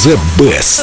The Best.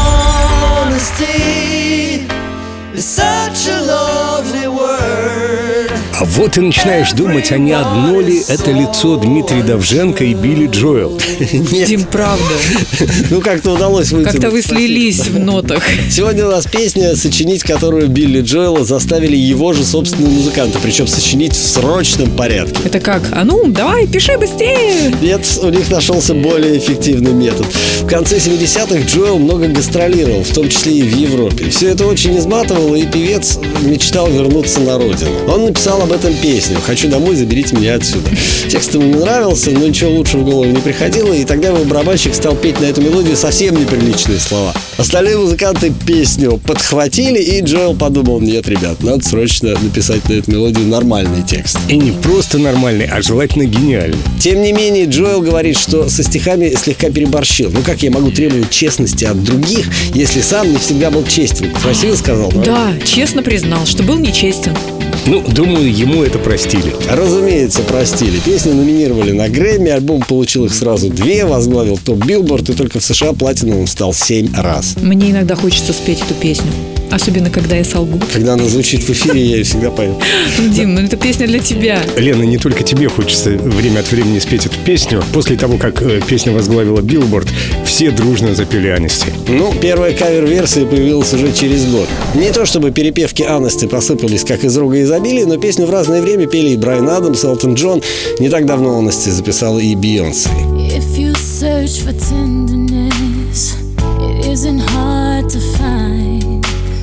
А вот и начинаешь думать, а не одно ли это лицо Дмитрий Довженко и Билли Джоэл? Дим, правда. Ну, как-то удалось выйти. Как-то вы слились в нотах. Сегодня у нас песня, сочинить которую Билли Джоэла заставили его же собственные музыканты, причем сочинить в срочном порядке. Это как? А ну, давай, пиши быстрее. Нет, у них нашелся более эффективный метод. В конце 70-х Джоэл много гастролировал, в том числе и в Европе. Все это очень изматывало, и певец мечтал вернуться на родину. Он написал об этом песню «Хочу домой, заберите меня отсюда». Текст ему не нравился, но ничего лучше в голову не приходило, и тогда его барабанщик стал петь на эту мелодию совсем неприличные слова. Остальные музыканты песню подхватили, и Джоэл подумал: нет, ребят, надо срочно написать на эту мелодию нормальный текст. И не просто нормальный, а желательно гениальный. Тем не менее, Джоэл говорит, что со стихами слегка переборщил. Ну как я могу требовать честности от других, если сам не всегда был честен? Красиво сказал, правда? Да, честно признал, что был нечестен. Ну, думаю, ему это простили. Разумеется, простили. Песню номинировали на Грэмми, альбом получил их сразу 2, возглавил топ Билборд, и только в США платиновым стал 7 раз. Мне иногда хочется спеть эту песню. Особенно, когда я солгу. Когда она звучит в эфире, я ее всегда пою. Дим, ну это песня для тебя. Лена, не только тебе хочется время от времени спеть эту песню. После того, как песня возглавила Билборд, все дружно запели Honesty. Ну, первая кавер-версия появилась уже через год. Не то чтобы перепевки Honesty посыпались как из рога изобилия, но песню в разное время пели и Брайан Адамс, и Элтон Джон. Не так давно Honesty записала и Бейонсе. If you search for tenderness, it isn't hard to find.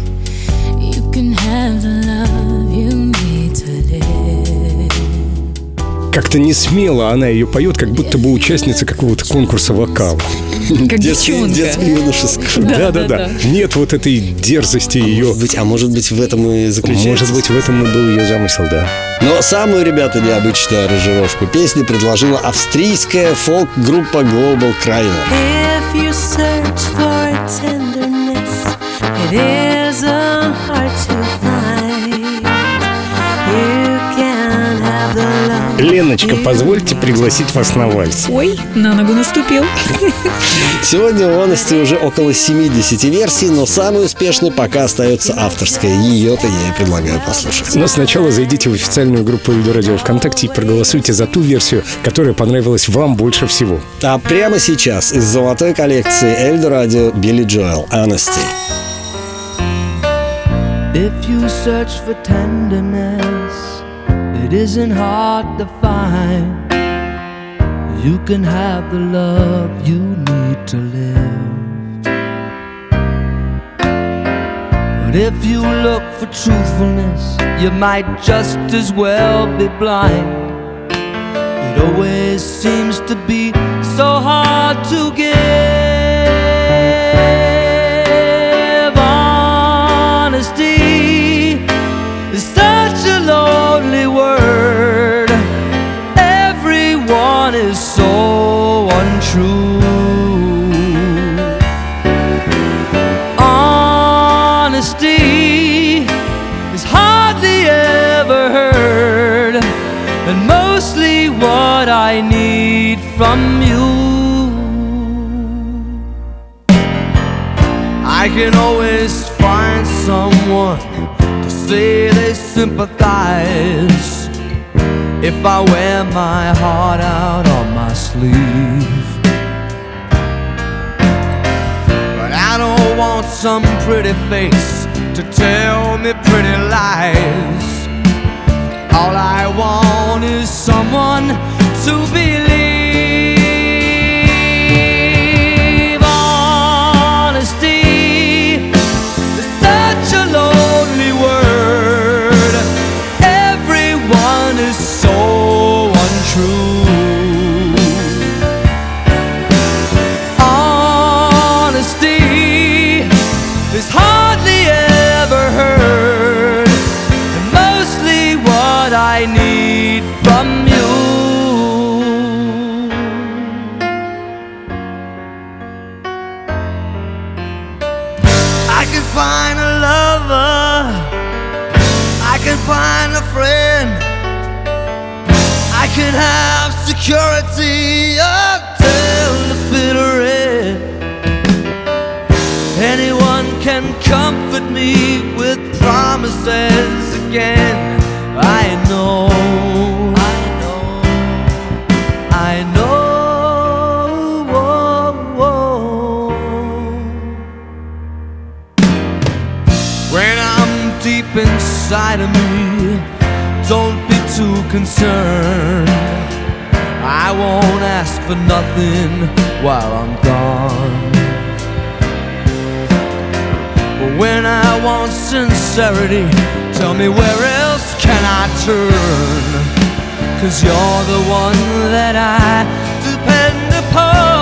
You can have the love you need to live. Как-то не смело она ее поет, как будто бы участница какого-то конкурса вокала. Как девчонка. Детско-юношеского. Да. Нет вот этой дерзости ее. Может быть, в этом и заключается. Может быть, в этом и был ее замысел, да. Но самую, ребята, необычную аранжировку песни предложила австрийская фолк-группа Global Krainer. If you search for tenderness, it isn't hard to find. You can have the love. Леночка, позвольте пригласить вас на вальс. Ой, на ногу наступил. Сегодня у Honesty уже около 70 версий, но самой успешной пока остается авторская. Ее-то я и предлагаю послушать. Но сначала зайдите в официальную группу Эльдо Радио ВКонтакте и проголосуйте за ту версию, которая понравилась вам больше всего. А прямо сейчас из золотой коллекции Эльдо Радио Билли Джоэл «Honesty». If you search for tenderness, it isn't hard to find. You can have the love you need to live. But if you look for truthfulness, you might just as well be blind. It always seems to be so hard to give. Honesty is such a lonely word. Everyone is so untrue. Honesty is hardly ever heard, and mostly what I need from you. I can always find someone to say they sympathize if I wear my heart out on my sleeve. But I don't want some pretty face to tell me pretty lies. All I want is someone to believe. Honesty is such a lonely word. Everyone is so untrue. Honesty is hardly ever heard, and mostly what I need from you. I can find a lover, I can find a friend, I can have security until the bitter end. can comfort me with promises again. I know, I know, I know. When I'm deep inside of me, don't be too concerned. I won't ask for nothing while I'm gone. But when I want sincerity, tell me where else can I turn? 'Cause you're the one that I depend upon.